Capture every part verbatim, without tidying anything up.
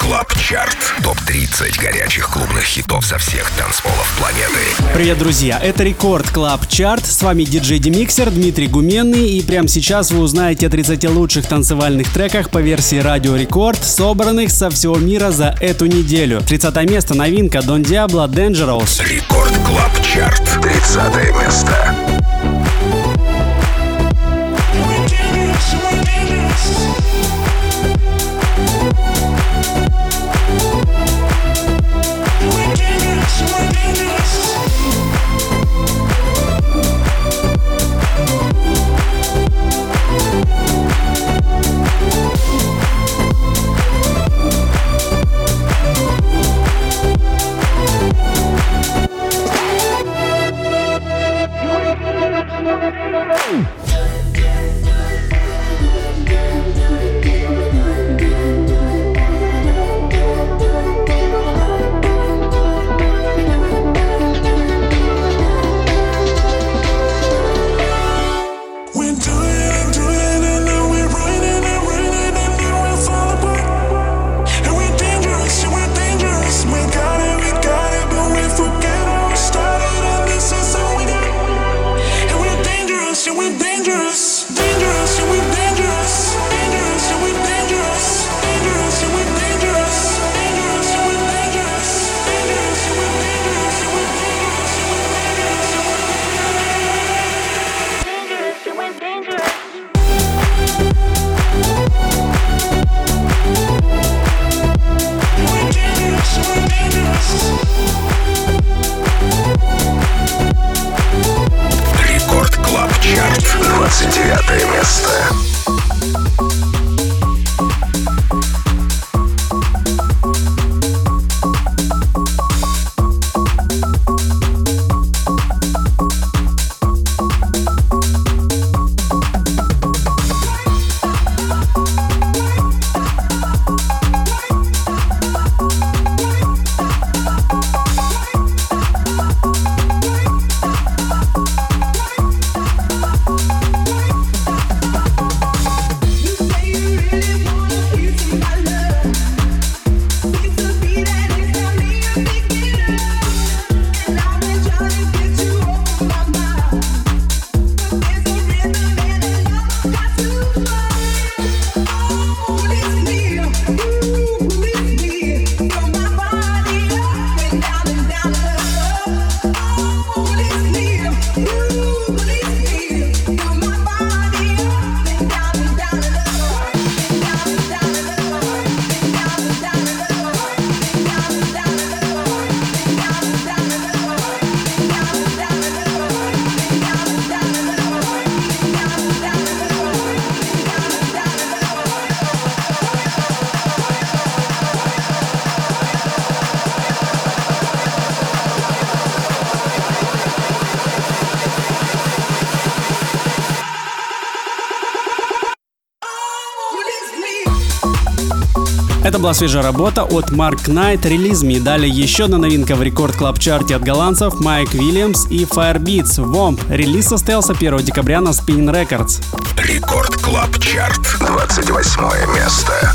Клаб Чарт. топ тридцать горячих клубных хитов со всех танцполов планеты. Привет, друзья! Это Рекорд Клаб Чарт. С вами диджей Демиксер Дмитрий Гуменный. И прямо сейчас вы узнаете о тридцати лучших танцевальных треках по версии Радио Рекорд, собранных со всего мира за эту неделю. тридцатое место. Новинка Don Diablo Dangerous. Рекорд Клаб Чарт. тридцатое место. двадцать девятое место. Это была свежая работа от Mark Knight Release Me. Далее еще одна новинка в Рекорд Клаб Чарте от голландцев Майк Уильямс и Firebeats Womp. Релиз состоялся первого декабря на Spin Records. Рекорд Клаб Чарт. двадцать восьмое место.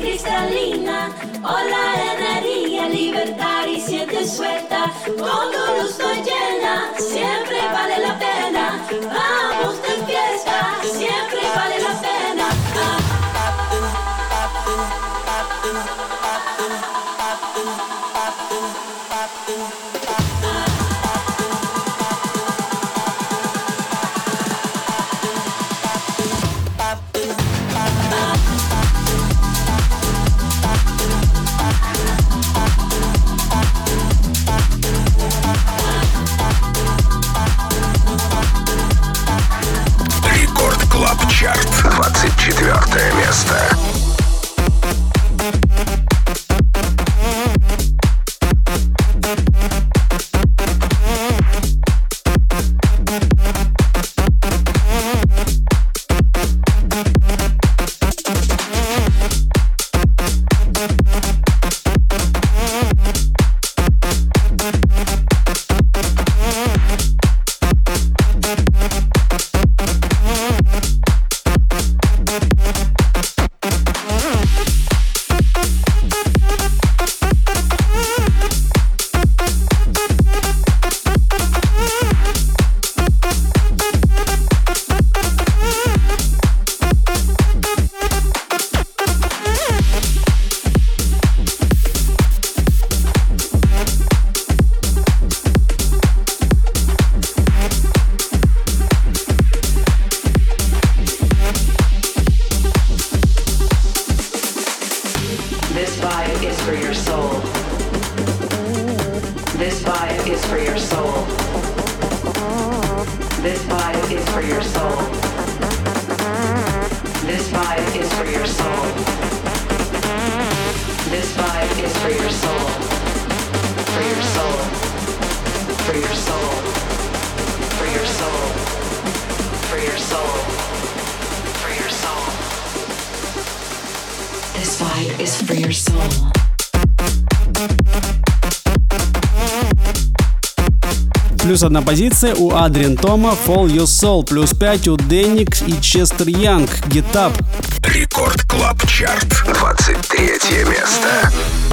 cristalina, hola energía, libertad y siente suelta, cuando luz estoy llena, siempre vale la pena, vamos de fiesta, siempre vale la pena. Ah. Чарт, двадцать четвёртое место. Плюс одна позиция у Адриан Тома, Fall Your Soul. Плюс пять у Денник и Честер Янг, Get Up. Рекорд Клаб Чарт, двадцать третье место.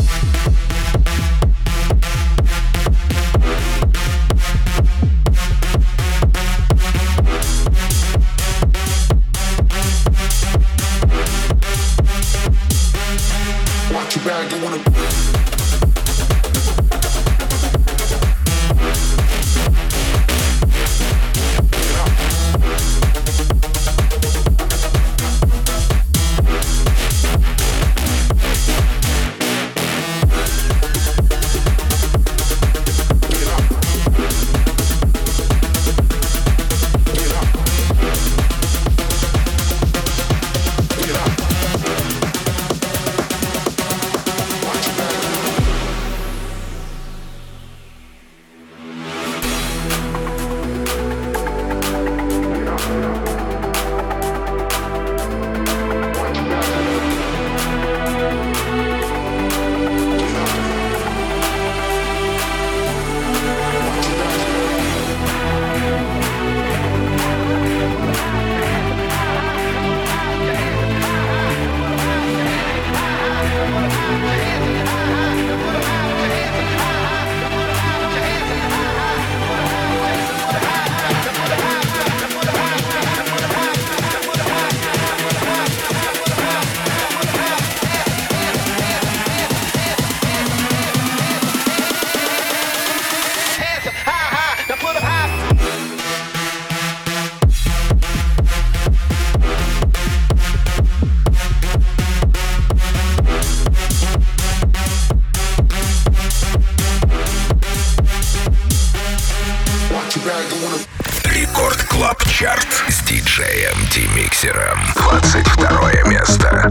Рекорд Клаб Чарт с диджеем D-Mixer. двадцать второе место.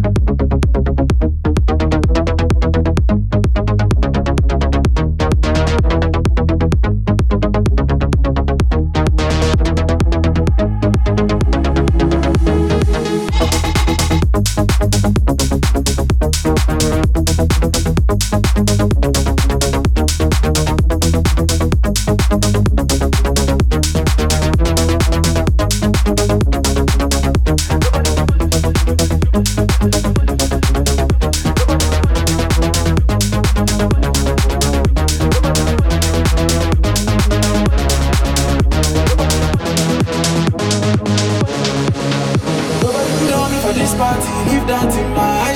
We'll be right back.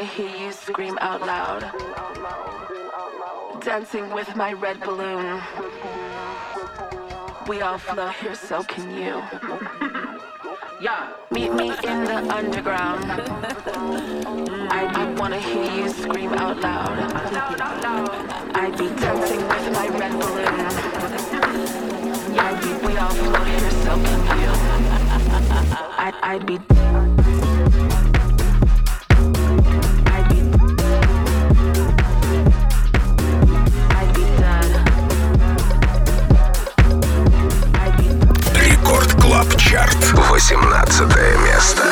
wanna hear you scream out loud. Dancing with my red balloon. We all float here, so can you. Yeah. Meet me in the underground. I, I wanna hear you scream out loud. I'd be dancing with my red balloon. I'd be, we all float here, so can you. I'd, I'd be. Чарт, восемнадцатое место.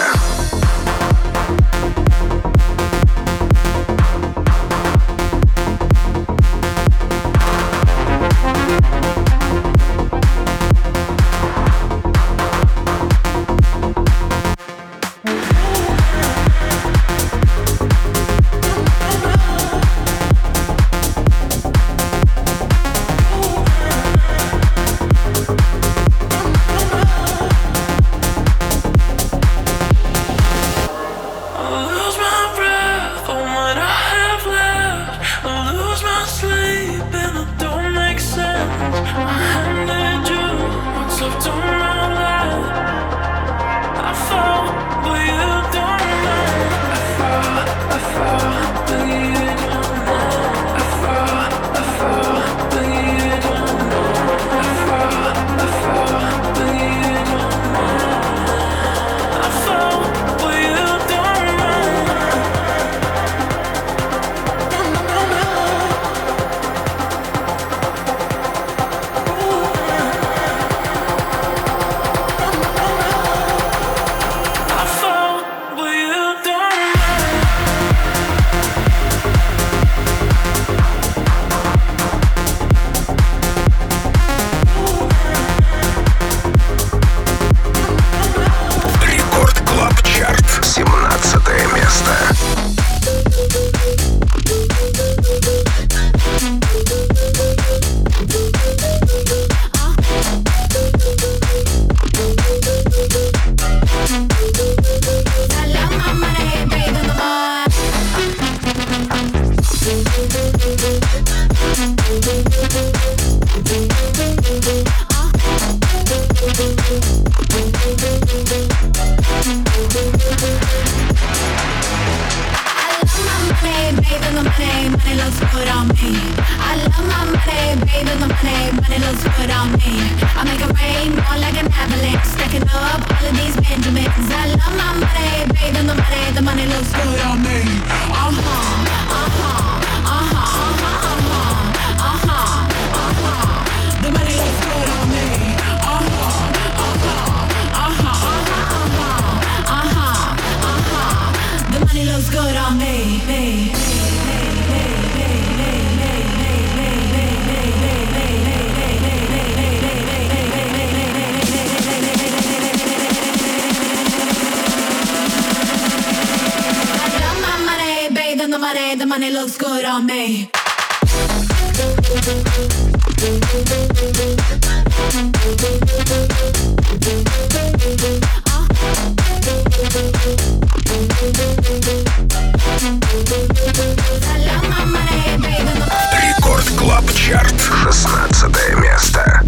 The money looks good on me. Рекорд Клаб Чарт, шестнадцатое место.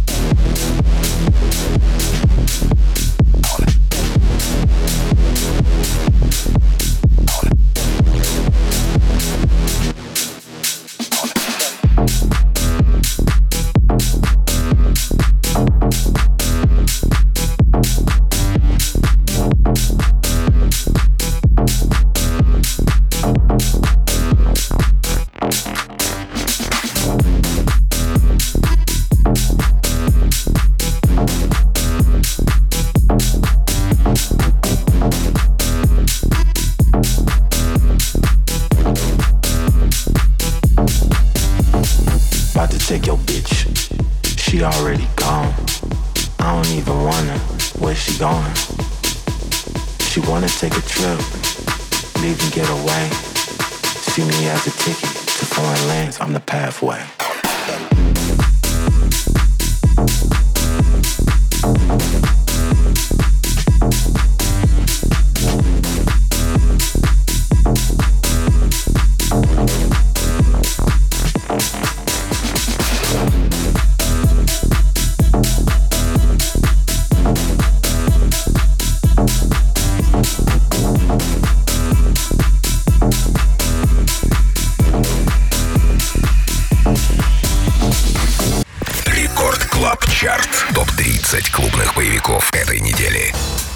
Take your bitch, she already gone. I don't even wonder where she going. She wanna take a trip, leave and get away. See me as a ticket to foreign lands, I'm the pathway. тридцать клубных боевиков этой недели.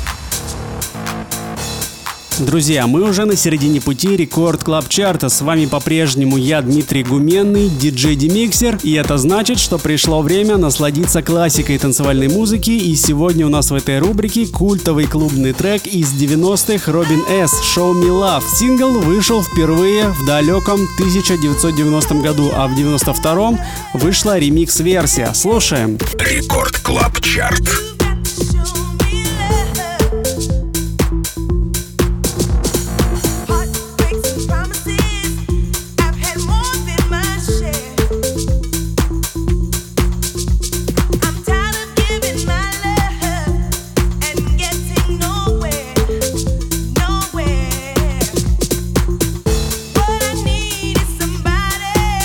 Друзья, мы уже на середине пути Рекорд Клаб Чарта. С вами по-прежнему я, Дмитрий Гуменный, диджей Демиксер. И это значит, что пришло время насладиться классикой танцевальной музыки. И сегодня у нас в этой рубрике культовый клубный трек из девяностых Robin S. «Show Me Love». Сингл вышел впервые в далеком тысяча девятьсот девяностом году, а в девяносто втором вышла ремикс-версия. Слушаем. Рекорд Клаб Чарт.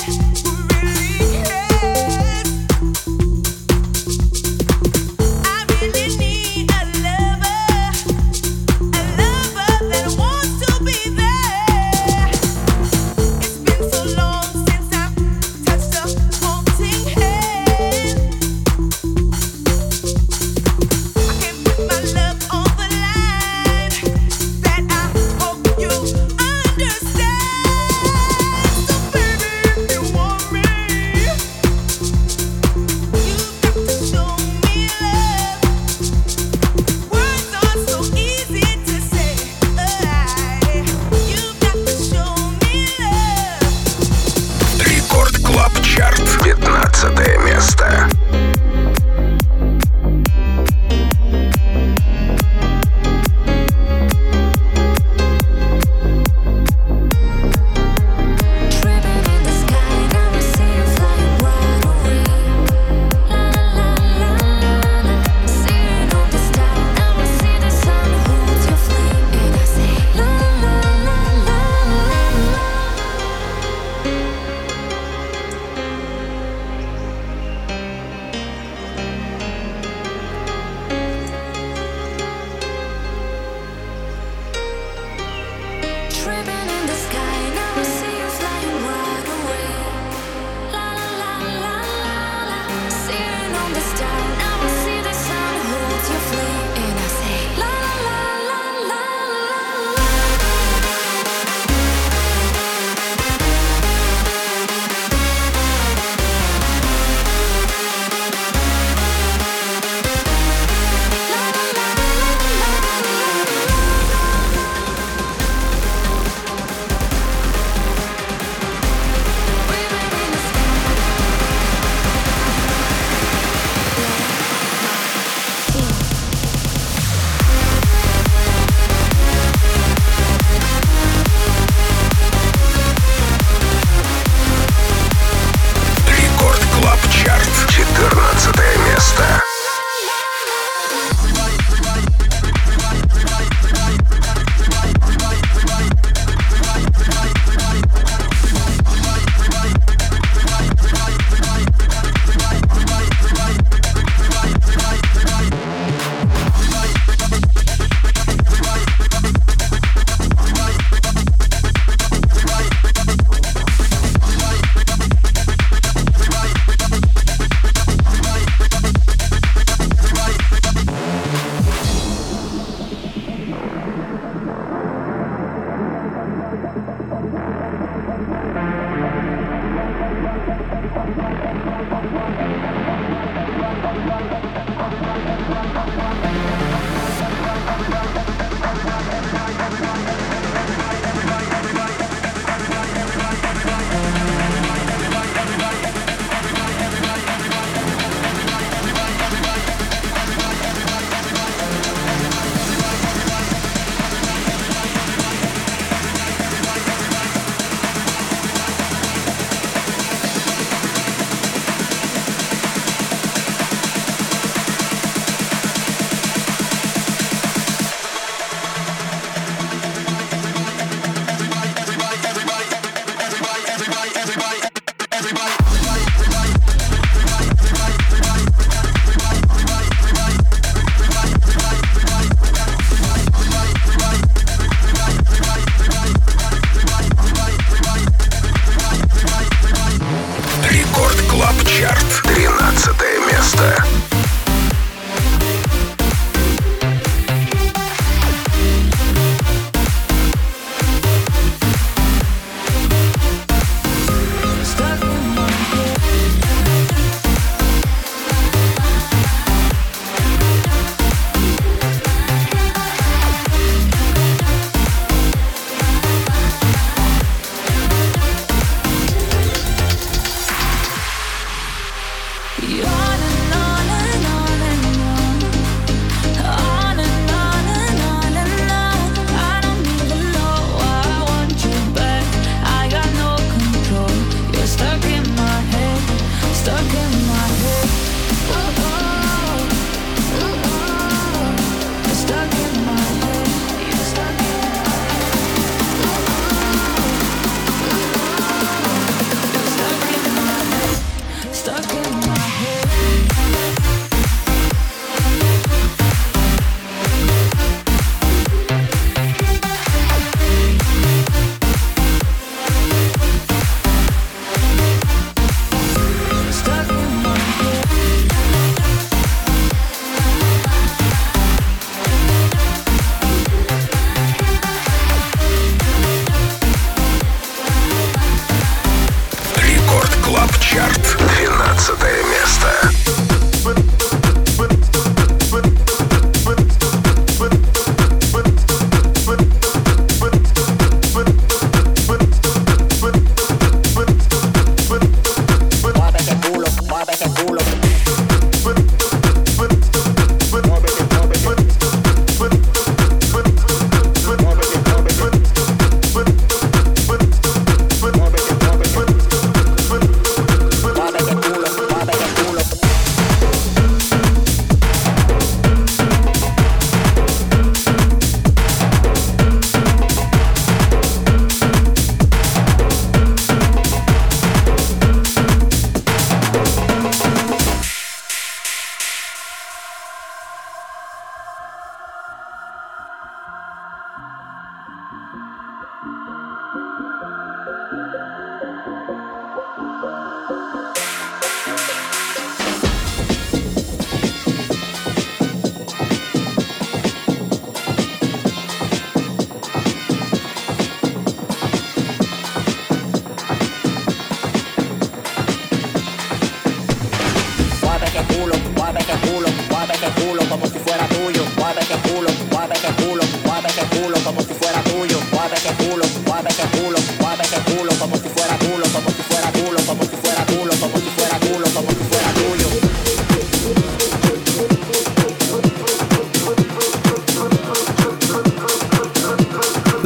I've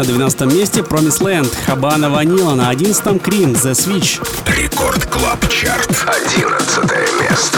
На двенадцатом месте Promised Land, Habana Vanilla. На одиннадцатом Cream, The Switch. Рекорд Клаб Чарт. Одиннадцатое место.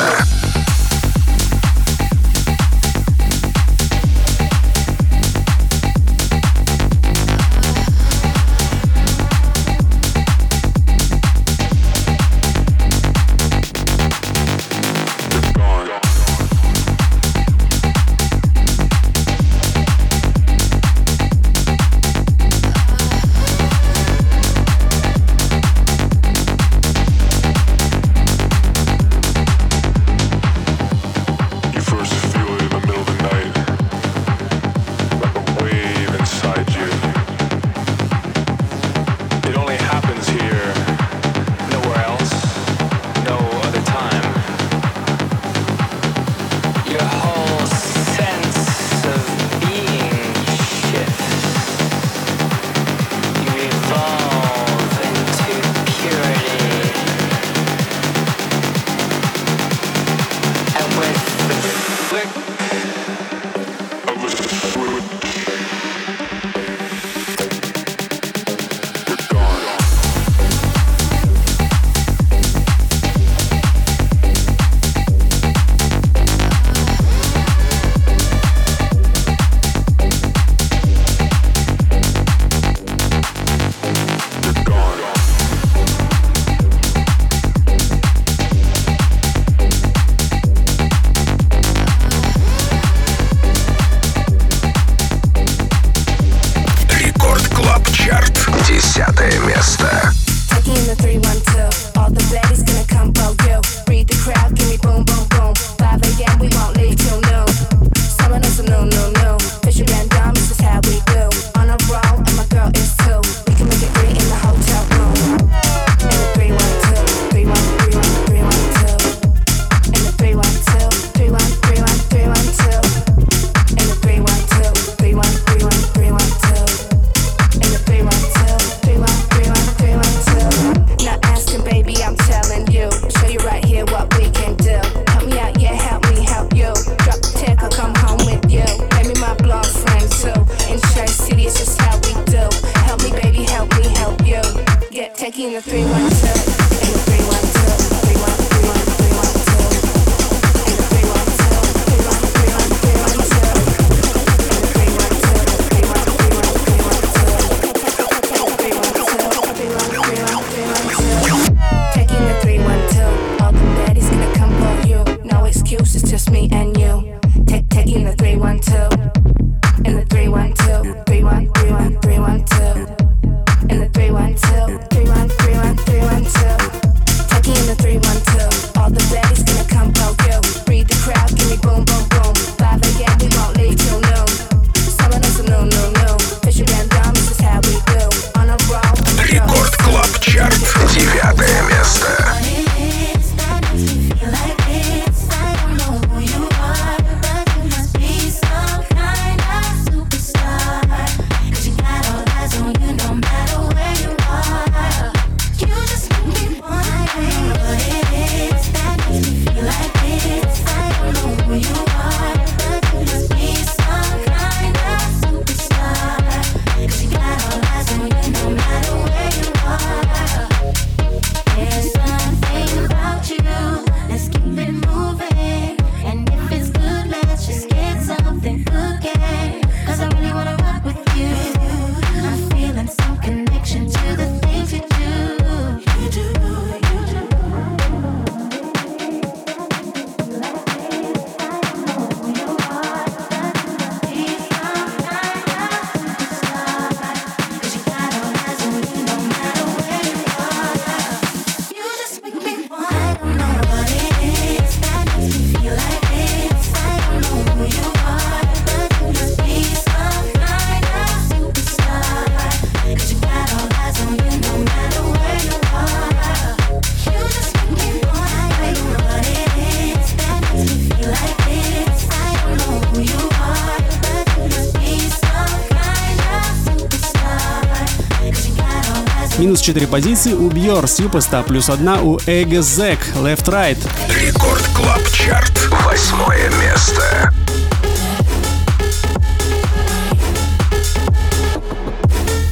Минус четыре позиции у Björk, Superstar, плюс одна у Egezek, Left Right. Рекорд Клаб Чарт, восьмое место.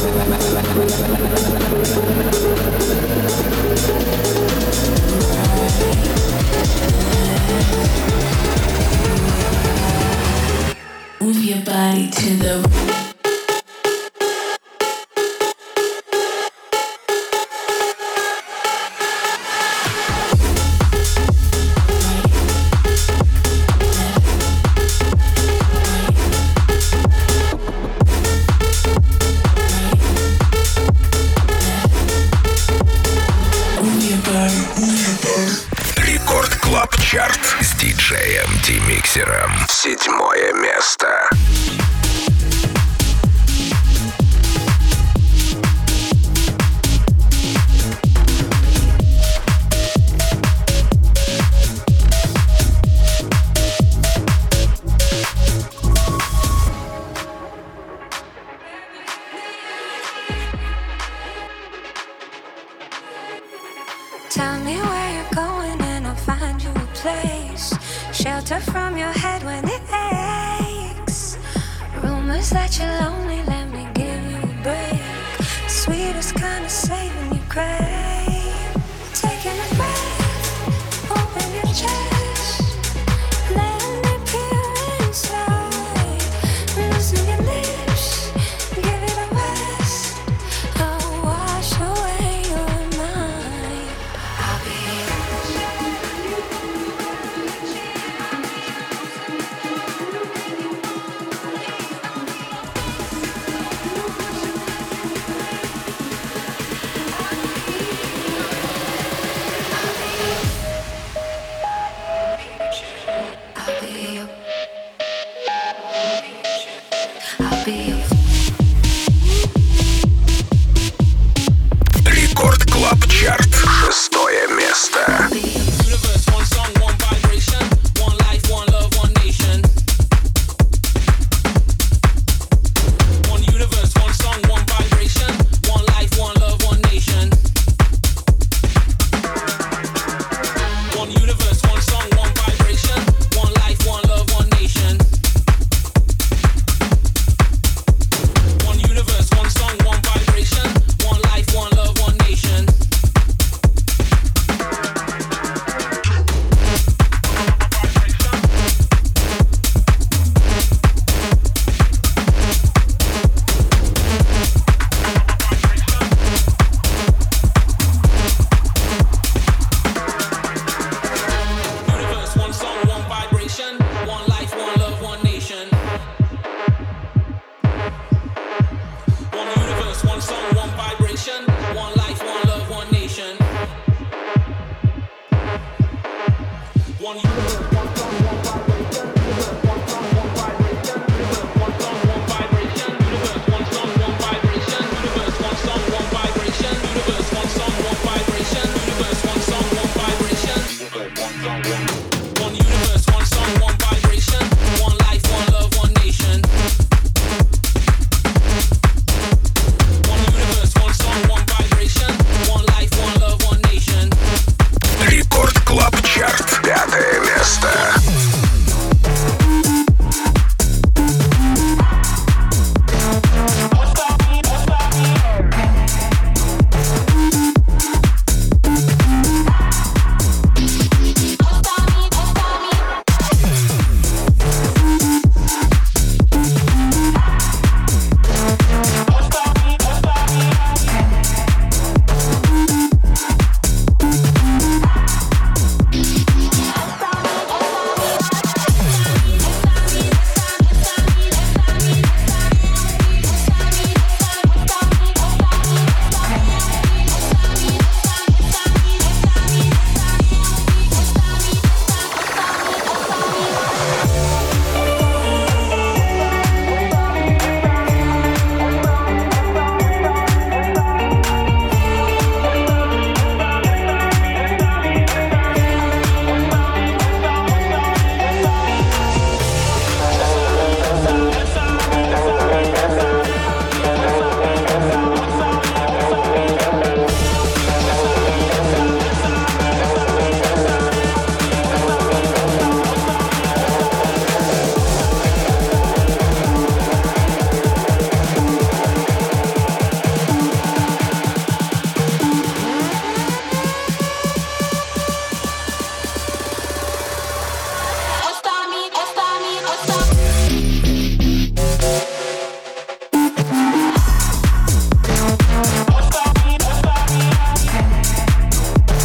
Move your body to the Рекорд Клаб Чарт с диджеем Демиксером. Седьмое место. Tell me where you're going and I'll find you a place. Shelter from your head when it aches. Rumors that you're lonely, let me give you a break. Sweetest kind of saving you crave. Taking a breath, open your chest. Letting it pure inside. Loosen your lips, give it a rest. I'll wash away your mind. I'll be here.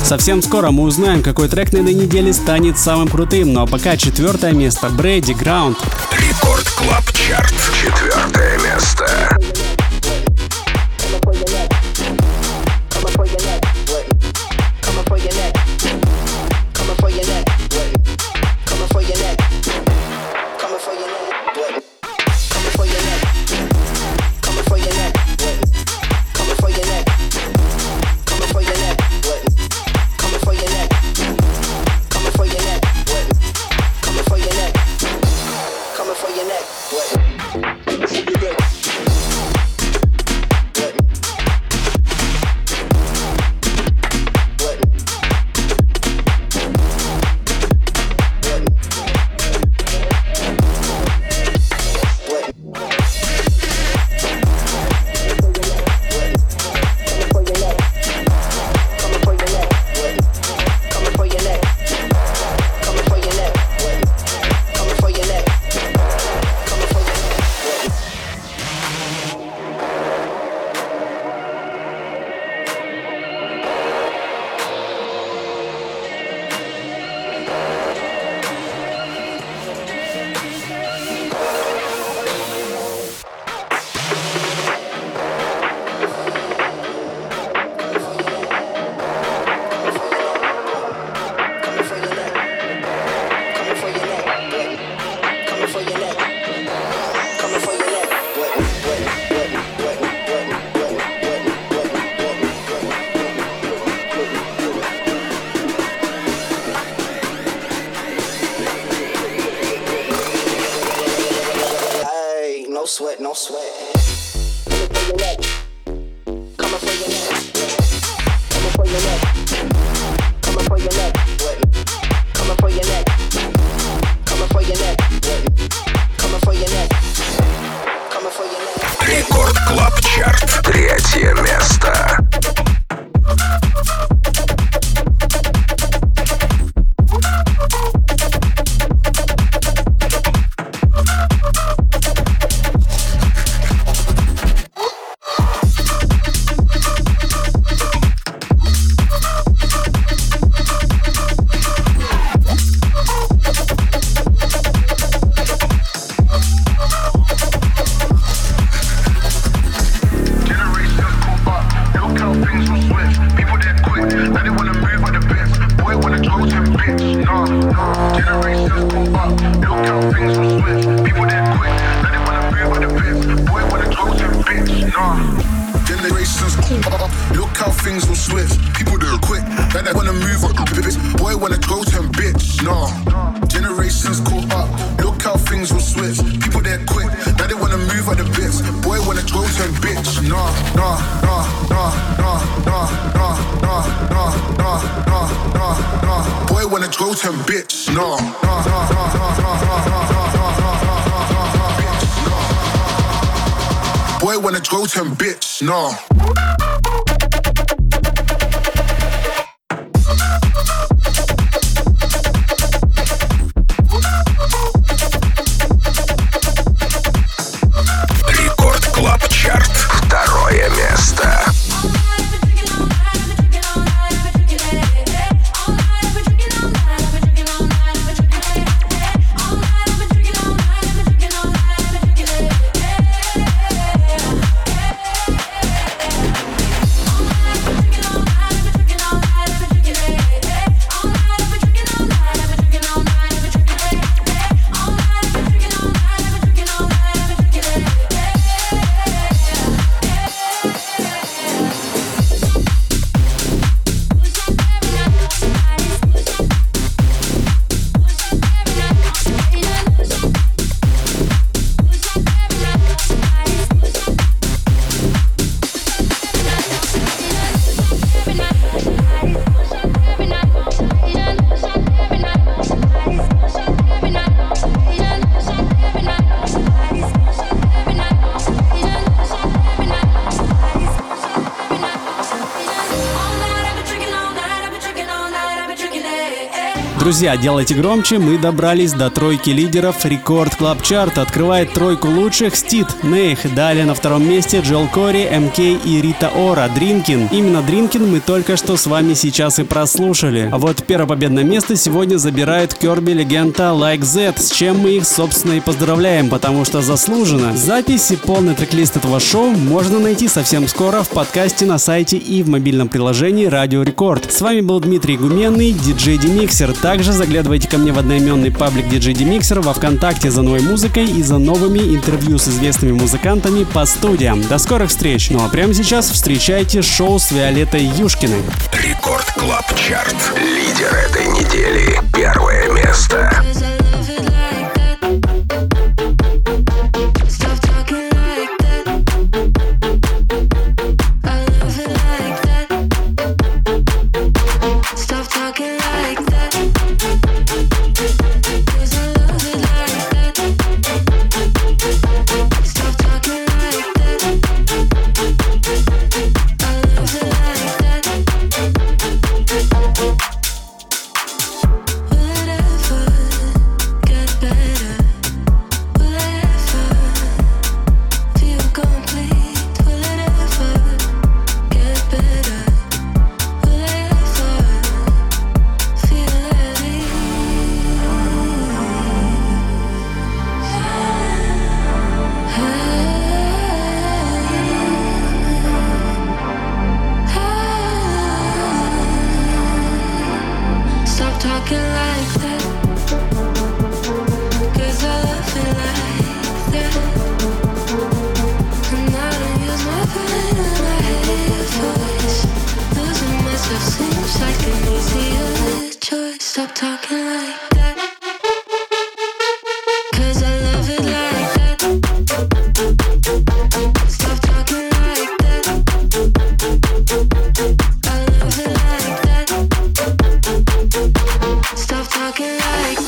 Совсем скоро мы узнаем, какой трек на этой неделе станет самым крутым. Ну а пока четвертое место. Брэди, Ground. Рекорд Клаб Чарт. Четвертое место. sweat, no sweat. Coming for your neck. Coming for your neck. Coming for your neck. Coming for your neck. Coming for your neck. Coming for your neck. Coming for your neck. Рекорд Клаб Чарт. Третье место. Boy wanna go to bitch, no. Рекорд Клаб Чарт. Второе место. Друзья, делайте громче, мы добрались до тройки лидеров Рекорд Клаб Чарт. Открывает тройку лучших Стид, Нейх. Далее на втором месте Джел Кори, эм кей и Рита Ора, Дринкин. Именно Дринкин мы только что с вами сейчас и прослушали. А вот первое победное место сегодня забирает Kirby Легенда Like That, с чем мы их, собственно, и поздравляем, потому что заслуженно. Запись и полный трек-лист этого шоу можно найти совсем скоро в подкасте на сайте и в мобильном приложении Радио Рекорд. С вами был Дмитрий Гуменный, диджей Демиксер. Также заглядывайте ко мне в одноименный паблик диджей Демиксер во ВКонтакте за новой музыкой и за новыми интервью с известными музыкантами по студиям. До скорых встреч! Ну а прямо сейчас встречайте шоу с Виолеттой Юшкиной. Рекорд Клаб Чарт. Лидер этой недели. Первое место. Seems like an easier choice. Stop talking like